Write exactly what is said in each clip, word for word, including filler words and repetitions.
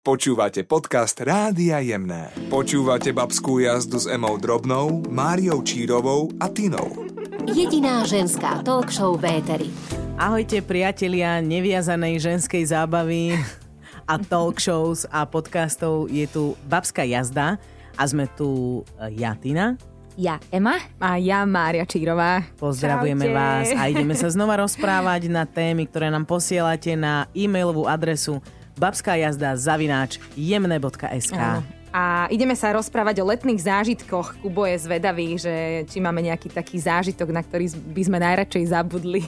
Počúvate podcast Rádia Jemné. Počúvate babskú jazdu s Emou Drobnou, Máriou Čírovou a Tinou. Jediná ženská talk show v éteri. Ahojte priatelia neviazanej ženskej zábavy a talk shows a podcastov. Je tu babská jazda a sme tu ja, Tina. Ja, Ema. A ja, Mária Čírová. Pozdravujeme Čaute. vás a ideme sa znova rozprávať na témy, ktoré nám posielate na e-mailovú adresu babskajazda zavináč jemné bodka es ká. A ideme sa rozprávať o letných zážitkoch. Kubo je zvedavý, že či máme nejaký taký zážitok, na ktorý by sme najradšej zabudli.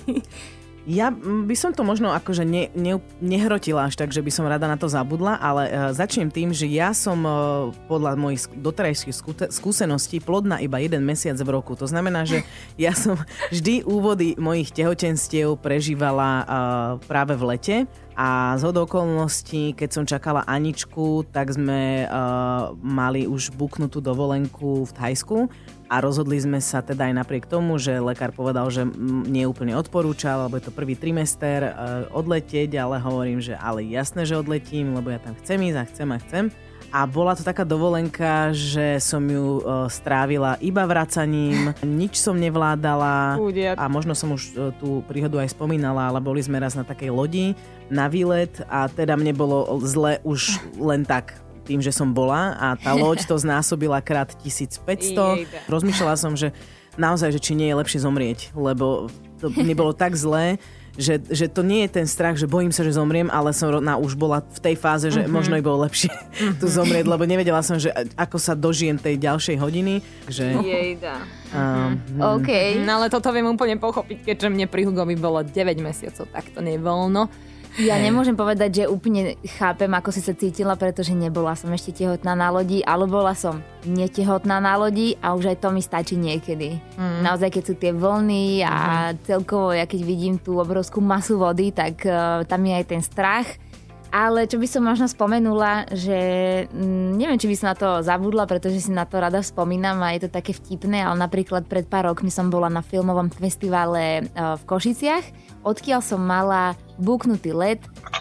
Ja by som to možno akože ne, ne, nehrotila až tak, že by som rada na to zabudla, ale uh, začnem tým, že ja som uh, podľa mojich doterajších skúseností plodná iba jeden mesiac v roku. To znamená, že ja som vždy úvody mojich tehotenstiev prežívala uh, práve v lete. A zhodou okolností, keď som čakala Aničku, tak sme uh, mali už buknutú dovolenku v Thajsku a rozhodli sme sa teda aj napriek tomu, že lekár povedal, že nie úplne odporúčal, lebo je to prvý trimester uh, odletieť, ale hovorím, že ale jasné, že odletím, lebo ja tam chcem ísť a chcem a chcem. A bola to taká dovolenka, že som ju uh, strávila iba vracaním, nič som nevládala. Udiak. A možno som už uh, tú príhodu aj spomínala, ale boli sme raz na takej lodi na výlet a teda mne bolo zle už len tak tým, že som bola a tá loď to znásobila krát tisícpäťsto. Rozmýšľala som, že naozaj, že či nie je lepšie zomrieť, lebo to mne bolo tak zlé, Že, že to nie je ten strach, že bojím sa, že zomriem, ale som na, už bola v tej fáze, že mm-hmm. možno by bolo lepšie mm-hmm. tu zomrieť, lebo nevedela som, že ako sa dožijem tej ďalšej hodiny. Že, Jejda. Um, OK. No ale toto viem úplne pochopiť, keďže mne pri Hugovi bolo deväť mesiacov, tak to nevoľno. Ja nemôžem povedať, že úplne chápem, ako si sa cítila, pretože nebola som ešte tehotná na lodi, ale bola som netehotná na lodi a už aj to mi stačí niekedy. Mm. Naozaj, keď sú tie vlny a mm. celkovo, ja keď vidím tú obrovskú masu vody, tak uh, tam je aj ten strach. Ale čo by som možno spomenula, že mm, neviem, či by som na to zabudla, pretože si na to rada spomínam a je to také vtipné, ale napríklad pred pár rokmi som bola na filmovom festivale uh, v Košiciach, odkiaľ som mala buknutý let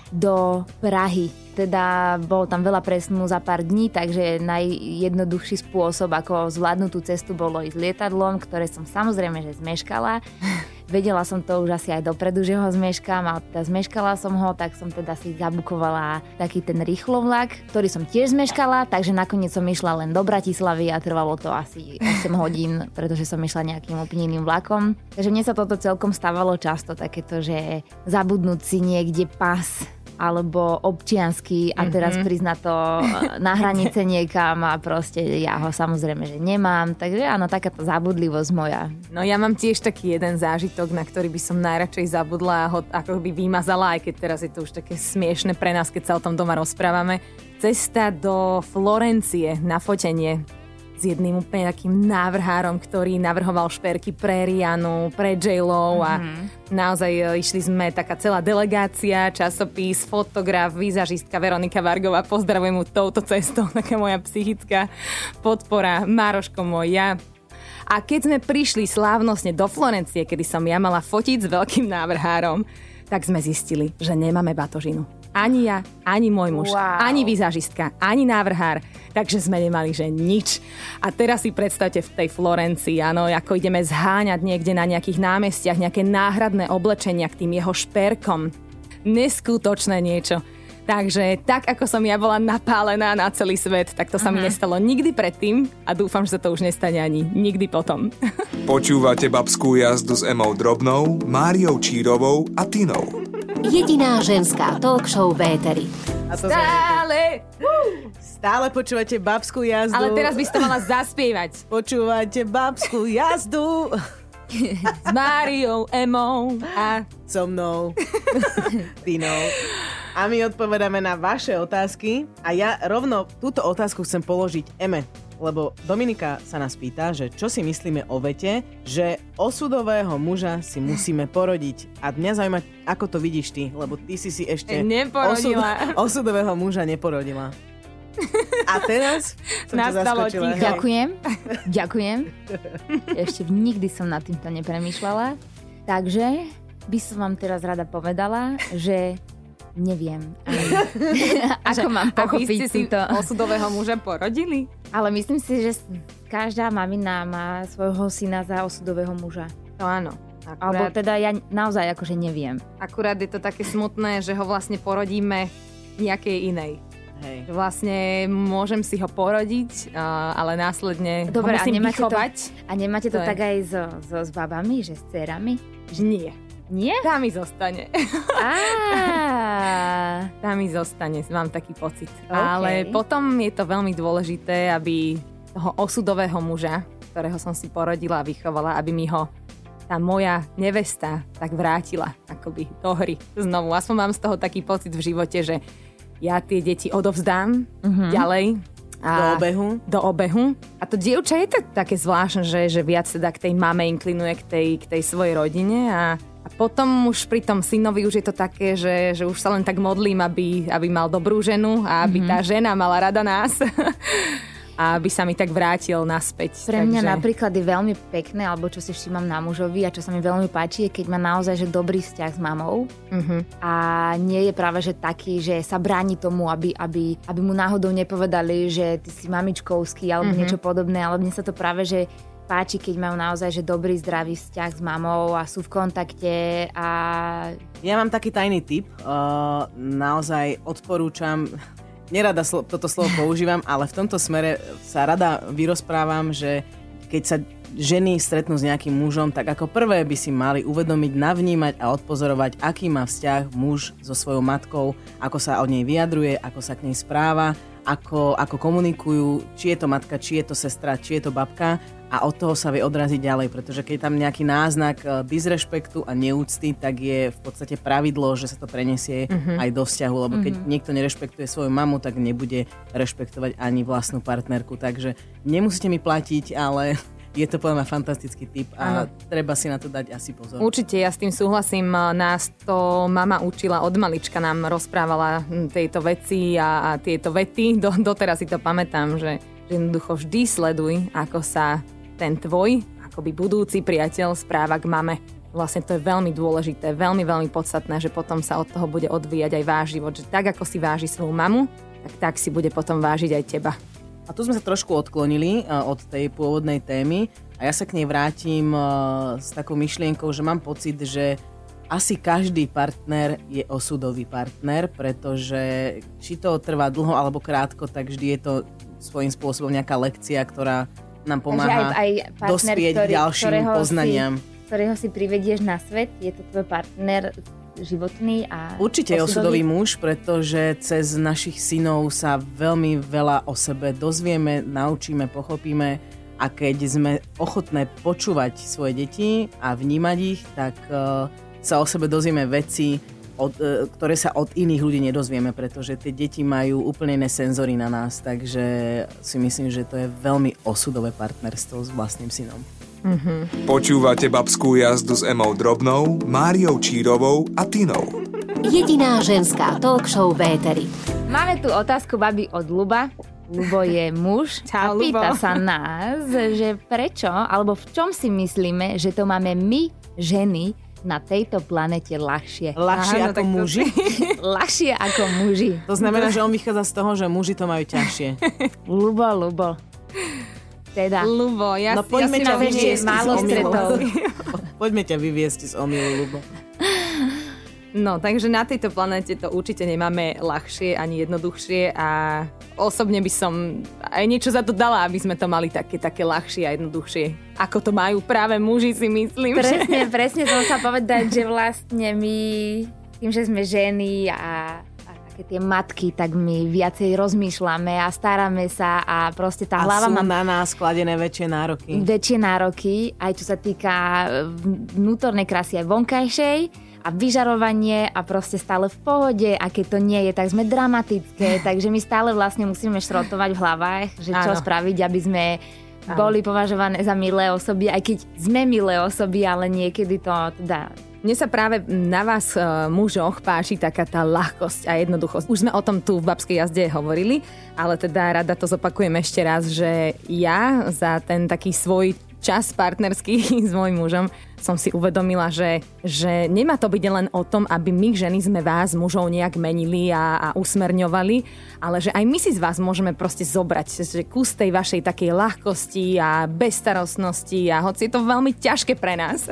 do Prahy. Teda bolo tam veľa presunu za pár dní, takže najjednoduchší spôsob, ako zvládnuť tú cestu, bolo ísť lietadlom, ktoré som samozrejme, že zmeškala. Vedela som to už asi aj dopredu, že ho zmeškám, ale teda zmeškala som ho, tak som teda si zabukovala taký ten rýchlovlak, ktorý som tiež zmeškala, takže nakoniec som išla len do Bratislavy a trvalo to asi osem hodín, pretože som išla nejakým úplne iným vlakom. Takže mne sa toto celkom stávalo často, takéto, že zabudnúť si niekde pas alebo občiansky a teraz mm-hmm. prísť na to na hranice niekam a proste ja ho samozrejme, že nemám. Takže áno, takáto zabudlivosť moja. No ja mám tiež taký jeden zážitok, na ktorý by som najradšej zabudla a ho ako by vymazala, aj keď teraz je to už také smiešne pre nás, keď sa o tom doma rozprávame. Cesta do Florencie na fotenie s jedným úplne takým návrhárom, ktorý navrhoval šperky pre Rianu, pre J-Lo a mm-hmm. naozaj išli sme taká celá delegácia, časopis, fotograf, vizažistka Veronika Vargová, pozdravujem mu touto cestou, taká moja psychická podpora, Mároško môj, ja. A keď sme prišli slávnostne do Florencie, kedy som ja mala fotiť s veľkým návrhárom, tak sme zistili, že nemáme batožinu. Ani ja, ani môj muž, wow. ani vizažistka, ani návrhár. Takže sme nemali, že nič. A teraz si predstavte v tej Florencii, áno, ako ideme zháňať niekde na nejakých námestiach, nejaké náhradné oblečenia k tým jeho šperkom. Neskutočné niečo. Takže tak, ako som ja bola napálená na celý svet, tak to sa uh-huh. mi nestalo nikdy predtým a dúfam, že sa to už nestane ani nikdy potom. Počúvate babskú jazdu s Emou Drobnou, Máriou Čírovou a Tinou. Jediná ženská talk show v éteri. Stále! Stále počúvate babskú jazdu. Ale teraz by si to mala zaspievať. Počúvate babskú jazdu. S Máriou, Emou a so mnou, Tinou. A my odpovedáme na vaše otázky. A ja rovno túto otázku chcem položiť Eme. Lebo Dominika sa nás pýta, že čo si myslíme o vete, že osudového muža si musíme porodiť. A mňa zaujíma, ako to vidíš ty, lebo ty si si ešte neporodila. Osud, osudového muža neporodila. A teraz som ťa zaskočila. Ďakujem, ďakujem. Ešte nikdy som nad týmto nepremýšľala. Takže by som vám teraz rada povedala, že Neviem. Ako mám pochopiť a vy ste si túto... osudového muža porodili? Ale myslím si, že každá mamina má svojho syna za osudového muža. To áno. Akurát... Alebo teda ja naozaj akože neviem. Akurát je to také smutné, že ho vlastne porodíme nejakej inej. Hej. Vlastne môžem si ho porodiť, ale následne Dobre, ho musím a vychovať. To, a nemáte to, to tak aj so, so, s babami, že s dcerami? Nie. Nie? Tá mi zostane. Á. Tá mi zostane, mám taký pocit. Okay. Ale potom je to veľmi dôležité, aby toho osudového muža, ktorého som si porodila a vychovala, aby mi ho tá moja nevesta tak vrátila akoby do hry znovu. Aspoň mám z toho taký pocit v živote, že ja tie deti odovzdám uh-huh. ďalej. A do obehu. Do obehu. A to dievča je to také zvláštne, že, že viac teda k tej mame inklinuje, k tej, k tej svojej rodine a A potom už pri tom synovi už je to také, že, že už sa len tak modlím, aby, aby mal dobrú ženu a aby mm-hmm. tá žena mala rada nás a aby sa mi tak vrátil naspäť. Pre mňa takže... napríklad je veľmi pekné, alebo čo si všímam na mužovi a čo sa mi veľmi páči, je keď má naozaj že dobrý vzťah s mamou mm-hmm. a nie je práve že taký, že sa bráni tomu, aby, aby, aby mu náhodou nepovedali, že ty si mamičkovský alebo mm-hmm. niečo podobné, ale mne sa to práve, že páči, keď majú naozaj že dobrý, zdravý vzťah s mamou a sú v kontakte a... Ja mám taký tajný tip. Uh, naozaj odporúčam, nerada slo- toto slovo používam, ale v tomto smere sa rada vyrozprávam, že keď sa ženy stretnú s nejakým mužom, tak ako prvé by si mali uvedomiť, navnímať a odpozorovať, aký má vzťah muž so svojou matkou, ako sa od nej vyjadruje, ako sa k nej správa, ako, ako komunikujú, či je to matka, či je to sestra, či je to babka. A od toho sa vie odraziť ďalej, pretože keď je tam nejaký náznak disrešpektu a neúcty, tak je v podstate pravidlo, že sa to prenesie mm-hmm. aj do vzťahu, lebo keď mm-hmm. niekto nerešpektuje svoju mamu, tak nebude rešpektovať ani vlastnú partnerku. Takže nemusíte mi platiť, ale je to podľa mňa fantastický tip a ano. Treba si na to dať asi pozor. Určite, ja s tým súhlasím. Nás to mama učila od malička, nám rozprávala tejto veci a, a tieto vety. Do, doteraz si to pamätám, že, že jednoducho vždy sleduj, ako sa ten tvoj, akoby budúci priateľ správa k mame. Vlastne to je veľmi dôležité, veľmi, veľmi podstatné, že potom sa od toho bude odvíjať aj váš život. Že tak, ako si váži svoju mamu, tak tak si bude potom vážiť aj teba. A tu sme sa trošku odklonili od tej pôvodnej témy a ja sa k nej vrátim s takou myšlienkou, že mám pocit, že asi každý partner je osudový partner, pretože či to trvá dlho alebo krátko, tak vždy je to svojím spôsobom nejaká lekcia, ktorá nám pomáha aj, aj partner, dospieť ktorý, k ďalším poznaniam. Si, ktorého si privedieš na svet, je to tvoj partner životný a určite je osudový muž, pretože cez našich synov sa veľmi veľa o sebe dozvieme, naučíme, pochopíme a keď sme ochotné počúvať svoje deti a vnímať ich, tak uh, sa o sebe dozvieme veci, od, uh, ktoré sa od iných ľudí nedozvieme, pretože tie deti majú úplne iné senzory na nás, takže si myslím, že to je veľmi osudové partnerstvo s vlastným synom. Mm-hmm. Počúvate Babskú jazdu s Emou Drobnou, Máriou Čírovou a Tinou. Jediná ženská talk show v éteri. Máme tu otázku babi od Ľuba. Ľubo je muž Čau, a pýta Ľubo. sa nás, že prečo, alebo v čom si myslíme, že to máme my, ženy, na tejto planete ľahšie. Ľahšie Áno, ako muži? Ľahšie ako muži. To znamená, že on vychádza z toho, že muži to majú ťažšie. Ľubo, Ľubo. Teda. Ľubo, ja, no, poďme ja ťa si vyviesť málo z stretov. Poďme ťa vyviesť z omylu, Ľubo. No, takže na tejto planéte to určite nemáme ľahšie ani jednoduchšie a osobne by som aj niečo za to dala, aby sme to mali také, také ľahšie a jednoduchšie. Ako to majú práve muži, si myslím. Presne, že... presne som sa povedať, že vlastne my tým, že sme ženy a tie matky, tak my viacej rozmýšľame a staráme sa a proste tá a hlava má... sú na nás kladené väčšie nároky. Väčšie nároky, aj čo sa týka vnútornej krásy aj vonkajšej a vyžarovanie a proste stále v pohode a keď to nie je, tak sme dramatické, takže my stále vlastne musíme šrotovať v hlavách, že čo Áno. spraviť, aby sme Áno. boli považované za milé osoby, aj keď sme milé osoby, ale niekedy to teda... Mne sa práve na vás, mužoch, páči taká tá ľahkosť a jednoduchosť. Už sme o tom tu v Babskej jazde hovorili, ale teda rada to zopakujem ešte raz, že ja za ten taký svoj čas partnerský s mojím mužom som si uvedomila, že, že nemá to byť len o tom, aby my ženy sme vás, mužov, nejak menili a, a usmerňovali, ale že aj my si z vás môžeme proste zobrať, že kus tej vašej takej ľahkosti a bezstarostnosti a hoci je to veľmi ťažké pre nás,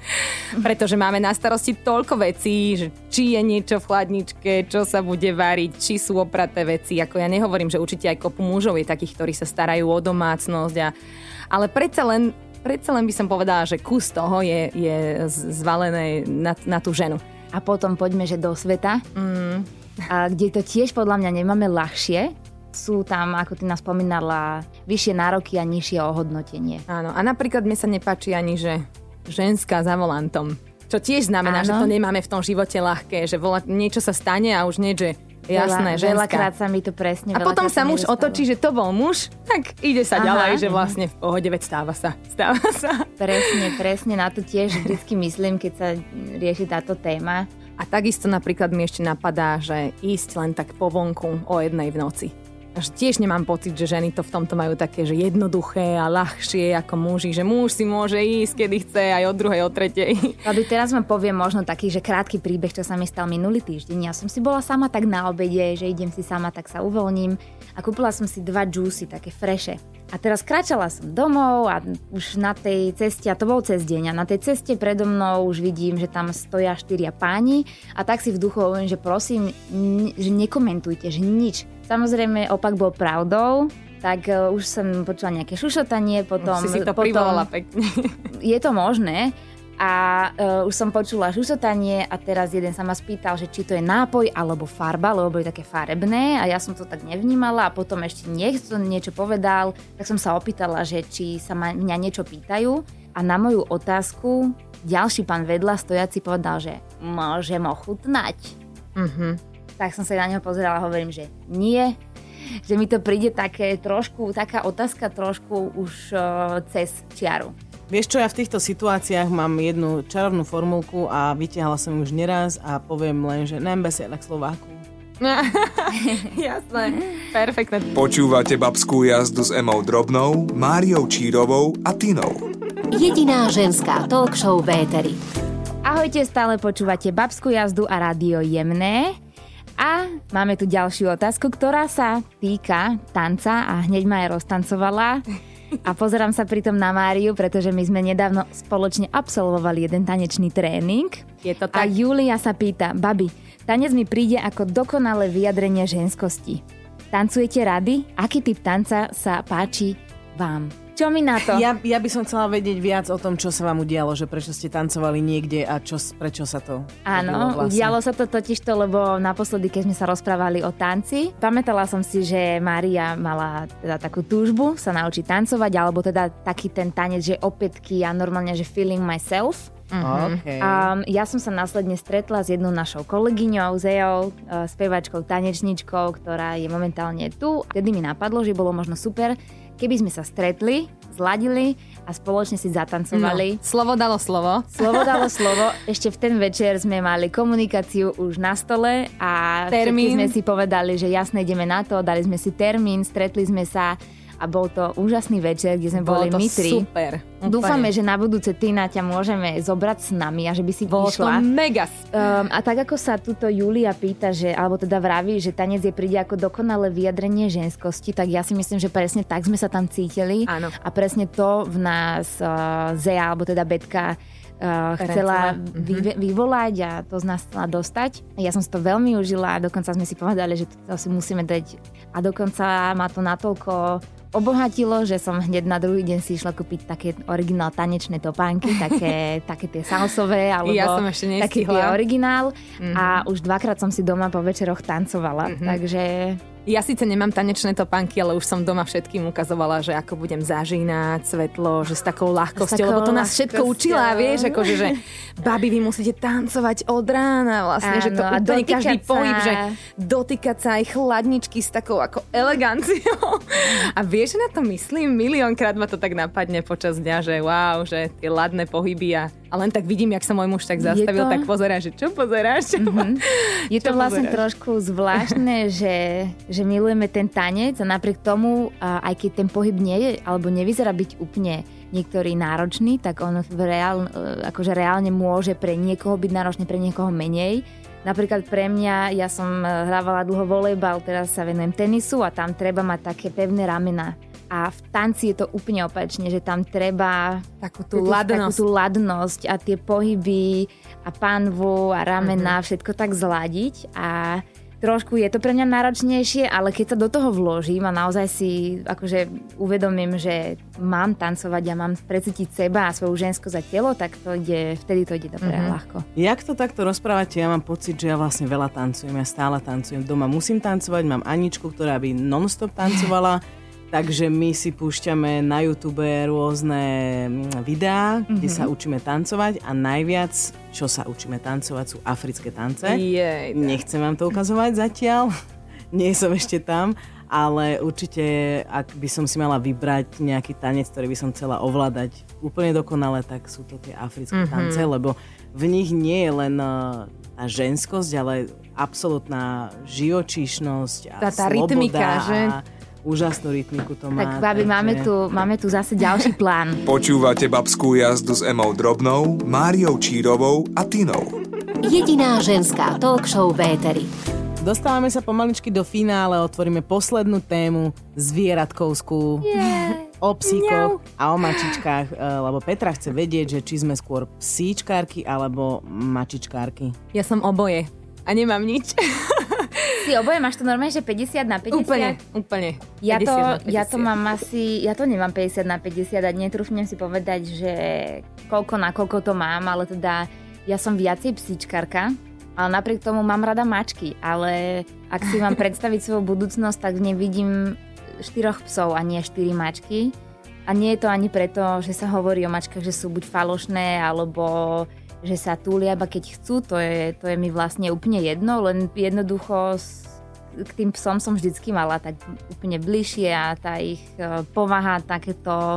pretože máme na starosti toľko vecí, že či je niečo v chladničke, čo sa bude variť, či sú opraté veci. Ako ja nehovorím, že určite aj kopu mužov je takých, ktorí sa starajú o domácnosť, a, ale predsa len Predsa len by som povedala, že kus toho je, je zvalené na, na tú ženu. A potom poďme, že do sveta, mm. a kde to tiež podľa mňa nemáme ľahšie. Sú tam, ako ty nás spomínala, vyššie nároky a nižšie ohodnotenie. Áno, a napríklad mne sa nepáči ani, že ženská za volantom. Čo tiež znamená, Áno. že to nemáme v tom živote ľahké, že vola, niečo sa stane a už nie, že jasné, Veľa, ženská. Veľakrát sa mi to presne... A potom sa muž otočí, že to bol muž, tak ide sa Aha. ďalej, že vlastne v pohode, veď stáva sa. Stáva sa. Presne, presne, na to tiež vždycky myslím, keď sa rieši táto téma. A takisto napríklad mi ešte napadá, že ísť len tak po vonku o jednej v noci. Až tiež nemám pocit, že ženy to v tomto majú také, že jednoduché a ľahšie ako muži, že muž si môže ísť, kedy chce, aj od druhej, od tretej. Aby teraz vám poviem možno taký, že krátky príbeh, čo sa mi stal minulý týždeň. Ja som si bola sama tak na obede, že idem si sama, tak sa uvoľním a kúpila som si dva džúsy, také freše. A teraz kráčala som domov a už na tej ceste, a to bol cez deň, a na tej ceste predo mnou už vidím, že tam stoja štyria páni a tak si v duchu hovorím, že prosím, n- že nekomentujte, že nič. Samozrejme, opak bol pravdou, tak uh, už som počula nejaké šušotanie, potom... Už si si to potom, privolala pekne. Je to možné. A uh, už som počula šušotanie a teraz jeden sa ma spýtal, že či to je nápoj alebo farba, lebo boli také farebné a ja som to tak nevnímala a potom ešte niekto niečo povedal, tak som sa opýtala, že či sa ma, mňa niečo pýtajú a na moju otázku ďalší pán vedľa stojaci povedal, že môžem ochutnať. Mhm. Tak som sa na neho pozerala a hovorím, že nie, že mi to príde také trošku, taká otázka trošku už uh, cez čiaru. Vieš čo, ja v týchto situáciách mám jednu čarovnú formulku a vytiahla som ju už neraz a poviem len, že nem besiedla k Slováku. Jasné, perfektné. Počúvate Babskú jazdu s Emou Drobnou, Máriou Čírovou a Tinou. Jediná ženská talk show v éteri. Ahojte, stále počúvate Babskú jazdu a Rádio Jemné. A máme tu ďalšiu otázku, ktorá sa týka tanca a hneď ma aj roztancovala. A pozerám sa pritom na Máriu, pretože my sme nedávno spoločne absolvovali jeden tanečný tréning. Je to tak? A Julia sa pýta, babi, tanec mi príde ako dokonalé vyjadrenie ženskosti. Tancujete rady? Aký typ tanca sa páči vám? Čo mi na to? Ja, ja by som chcela vedieť viac o tom, čo sa vám udialo, že prečo ste tancovali niekde a čo, prečo sa to Áno, vlastne. Udialo sa to totižto, lebo naposledy, keď sme sa rozprávali o tanci, pamätala som si, že Mária mala teda takú túžbu sa naučiť tancovať, alebo teda taký ten tanec, že opätky a normálne, že feeling myself. Mm-hmm. Okay. Um, ja som sa následne stretla s jednou našou kolegyňou, Zejou, uh, spevačkou, tanečničkou, ktorá je momentálne tu. Vtedy mi napadlo, že bolo možno super, keby sme sa stretli, zladili a spoločne si zatancovali. No, slovo dalo slovo. Slovo dalo slovo. Ešte v ten večer sme mali komunikáciu už na stole a termín. sme si povedali, že jasne ideme na to, dali sme si termín, stretli sme sa a bol to úžasný večer, kde sme bolo boli my tri. Super. Dúfame, že na budúce Tina ťa môžeme zobrať s nami a že by si bolo išla. Bolo to mega. Um, a tak ako sa tuto Julia pýta, že, alebo teda vraví, že tanec je príde ako dokonalé vyjadrenie ženskosti, tak ja si myslím, že presne tak sme sa tam cítili. Áno. A presne to v nás uh, Zea, alebo teda Betka Uh, chcela vy, vyvolať a to z nás chcela dostať. Ja som si to veľmi užila a dokonca sme si povedali, že to si musíme dať a dokonca ma to natoľko obohatilo, že som hneď na druhý deň si išla kúpiť také originál tanečné topánky, také, také tie salsové, alebo ja som ešte nestihla. Taký tie originál mm-hmm. a už dvakrát som si doma po večeroch tancovala, mm-hmm. takže... Ja síce nemám tanečné topánky, ale už som doma všetkým ukazovala, že ako budem zažínať svetlo, že s takou ľahkosťou, lebo to nás všetko učila, vieš, akože, že babi, vy musíte tancovať od rána vlastne, áno, že to úplne každý sa. Pohyb, že dotýkať sa aj chladničky s takou ako eleganciou. A vieš, že na to myslím? Miliónkrát ma to tak napadne počas dňa, že wow, že tie ladné pohyby a, a len tak vidím, jak sa môj muž tak zastavil, to... tak pozerá, že čo pozeráš? Mm-hmm. Je to čo vlastne pozeráš? Trošku zvláštne, že že milujeme ten tanec a napriek tomu, aj keď ten pohyb nie je, alebo nevyzerá byť úplne niektorý náročný, tak on v reál, akože reálne môže pre niekoho byť náročný, pre niekoho menej. Napríklad pre mňa, ja som hrávala dlho volejbal, teraz sa venujem tenisu a tam treba mať také pevné ramená. A v tanci je to úplne opačne, že tam treba takú tú ladnosť. Takú tú ladnosť a tie pohyby a panvu a ramená, mm-hmm. všetko tak zladiť a trošku je to pre mňa náročnejšie, ale keď sa do toho vložím a naozaj si akože uvedomím, že mám tancovať a mám precítiť seba a svoju ženskosť a telo, tak to ide, vtedy to ide dobre mm-hmm. ľahko. Jak to takto rozprávate, ja mám pocit, že ja vlastne veľa tancujem, ja stále tancujem. Doma musím tancovať, mám Aničku, ktorá by non-stop tancovala, takže my si púšťame na YouTube rôzne videá, mm-hmm. kde sa učíme tancovať a najviac, čo sa učíme tancovať, sú africké tance. Jej, Nechcem vám to ukazovať zatiaľ, nie som ešte tam, ale určite, ak by som si mala vybrať nejaký tanec, ktorý by som chcela ovládať úplne dokonale, tak sú to tie africké mm-hmm. tance, lebo v nich nie je len tá ženskosť, ale absolútna živočíšnosť a tá, tá sloboda rytmika, že? A úžasnú rytmiku to má. Tak babi, takže... máme, tu, máme tu zase ďalší plán. Počúvate Babskú jazdu s Emou Drobnou, Máriou Čírovou a Tinou. Jediná ženská talk show v éteri. Dostávame sa pomaličky do finále, otvoríme poslednú tému zvieratkovskú. Yeah. O psíkoch a o mačičkách, lebo Petra chce vedieť, že či sme skôr psíčkárky alebo mačičkárky. Ja som oboje a nemám nič. Si oboje, máš to normálne, že päťdesiat na päťdesiat? Úplne, úplne. Ja to, päťdesiat na päťdesiat. ja to mám asi, ja to nemám päťdesiat na päťdesiat a netrúfnem si povedať, že koľko na koľko to mám, ale teda ja som viacej psíčkarka, ale napriek tomu mám rada mačky, ale ak si mám predstaviť svoju budúcnosť, tak v nej vidím štyroch psov a nie štyri mačky. A nie je to ani preto, že sa hovorí o mačkách, že sú buď falošné, alebo že sa túlia, iba keď chcú, to je, to je mi vlastne úplne jedno, len jednoducho k tým psom som vždycky mala tak úplne bližšie a tá ich povaha, takéto,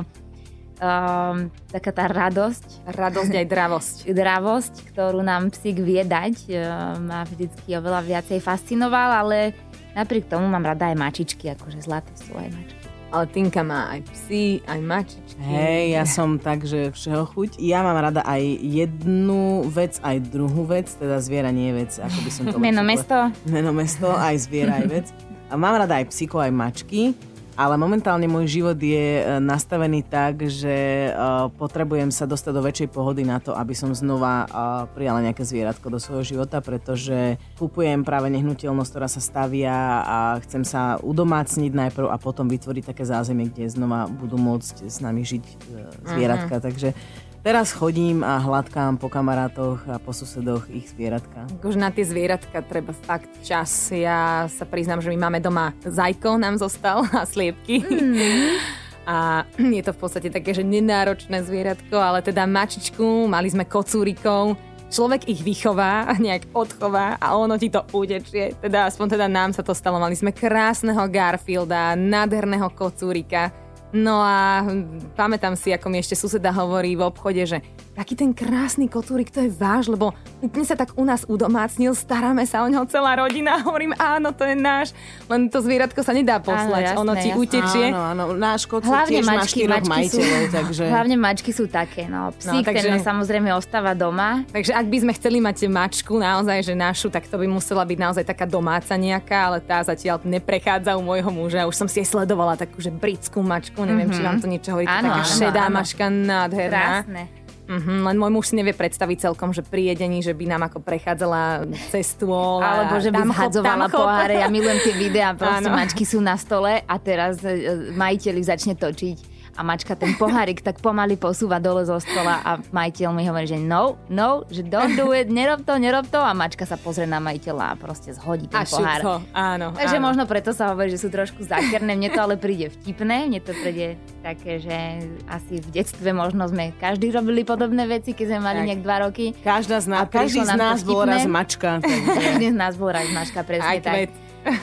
um, taká tá radosť. Radosť aj dravosť. Dravosť, ktorú nám psík vie dať, ma vždycky oveľa viacej fascinoval, ale napriek tomu mám rada aj mačičky, akože zlaté sú aj mačky. Ale Tinka má aj psi, aj mačičky. Hej, ja som tak, že všeho chuť. Ja mám rada aj jednu vec, aj druhú vec, teda zviera nie je vec, ako by som to... Meno mesto. Meno mesto, aj zviera, aj vec. A mám rada aj psíkov, aj mačky, ale momentálne môj život je nastavený tak, že uh, potrebujem sa dostať do väčšej pohody na to, aby som znova uh, prijala nejaké zvieratko do svojho života, pretože kupujem práve nehnuteľnosť, ktorá sa stavia a chcem sa udomácniť najprv a potom vytvoriť také zázemie, kde znova budú môcť s nami žiť uh, zvieratka. Uh-huh. Takže teraz chodím a hladkám po kamarátoch a po susedoch ich zvieratka. Už na tie zvieratka treba fakt čas. Ja sa priznám, že my máme doma zajko, nám zostal a sliepky. Mm. A je to v podstate také, že nenáročné zvieratko, ale teda mačičku, mali sme kocúrikov. Človek ich vychová, nejak odchová a ono ti to utečie. Teda aspoň teda nám sa to stalo. Mali sme krásneho Garfielda, nádherného kocúrika. No a pamätám si, ako mi ešte suseda hovorí v obchode, že taký ten krásny kocúrik, to je váš, lebo úplne sa tak u nás udomácnil, staráme sa o neho celá rodina. Hovorím, áno, to je náš, len to zvieratko sa nedá poslať, áno, jasné, ono ti jasné. utečie. Áno, áno, náš kocúr tiež má štyroch majiteľov, takže... Hlavne mačky sú také, no. Psík, no, takže... ten samozrejme ostáva doma. Takže ak by sme chceli mať mačku naozaj, že našu, tak to by musela byť naozaj taká domáca nejaká, ale tá zatiaľ neprechádza u môjho muža. Už som si aj sledovala takú, že britskú mačku, neviem, mm-hmm. či vám to niečo hovorí, taká šedá áno. mačka, nádherná. Krásne. Mm-hmm, len môj muž si nevie predstaviť celkom, že pri jedení, že by nám ako prechádzala cez stôl. Alebo že by zhadzovala poháre. Ja milujem tie videá, proste mačky sú na stole a teraz majiteľ začne točiť a mačka ten pohárik tak pomaly posúva dole zo stola a majiteľ mi hovorí, že no, no, že don't do it, nerob to, nerob to a mačka sa pozrie na majiteľa a proste zhodí ten a pohár. To. Áno, Takže áno. možno preto sa hovorí, že sú trošku zákerné, mne to ale príde vtipné, mne to príde také, že asi v detstve možno sme každý robili podobné veci, keď sme mali tak. nejak dva roky. Každá z nás, každý z nás bol raz mačka. Každý z nás bol raz mačka, presne aj tak.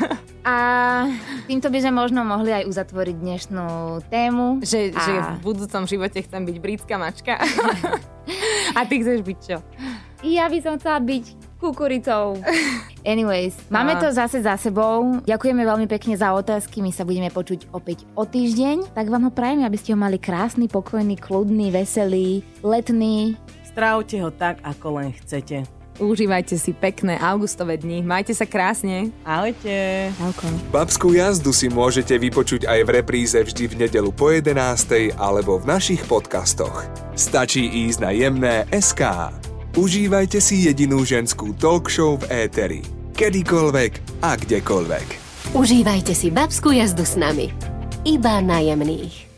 A týmto by sme možno mohli aj uzatvoriť dnešnú tému. Že, a... že v budúcom živote chcem byť britská mačka. A ty chceš byť čo? Ja by som chcela byť kukuricou. Anyways, máme to zase za sebou. Ďakujeme veľmi pekne za otázky. My sa budeme počuť opäť o týždeň. Tak vám ho prajeme, aby ste ho mali krásny, pokojný, kľudný, veselý, letný. Strávte ho tak, ako len chcete. Užívajte si pekné augustové dni. Majte sa krásne. Ahojte. Ahojko. Babskú jazdu si môžete vypočuť aj v repríze vždy v nedeľu po jedenástej alebo v našich podcastoch. Stačí ísť na jemné bodka es ká. Užívajte si jedinú ženskú talk show v éteri. Kedykoľvek a kdekoľvek. Užívajte si babskú jazdu s nami. Iba na Jemných.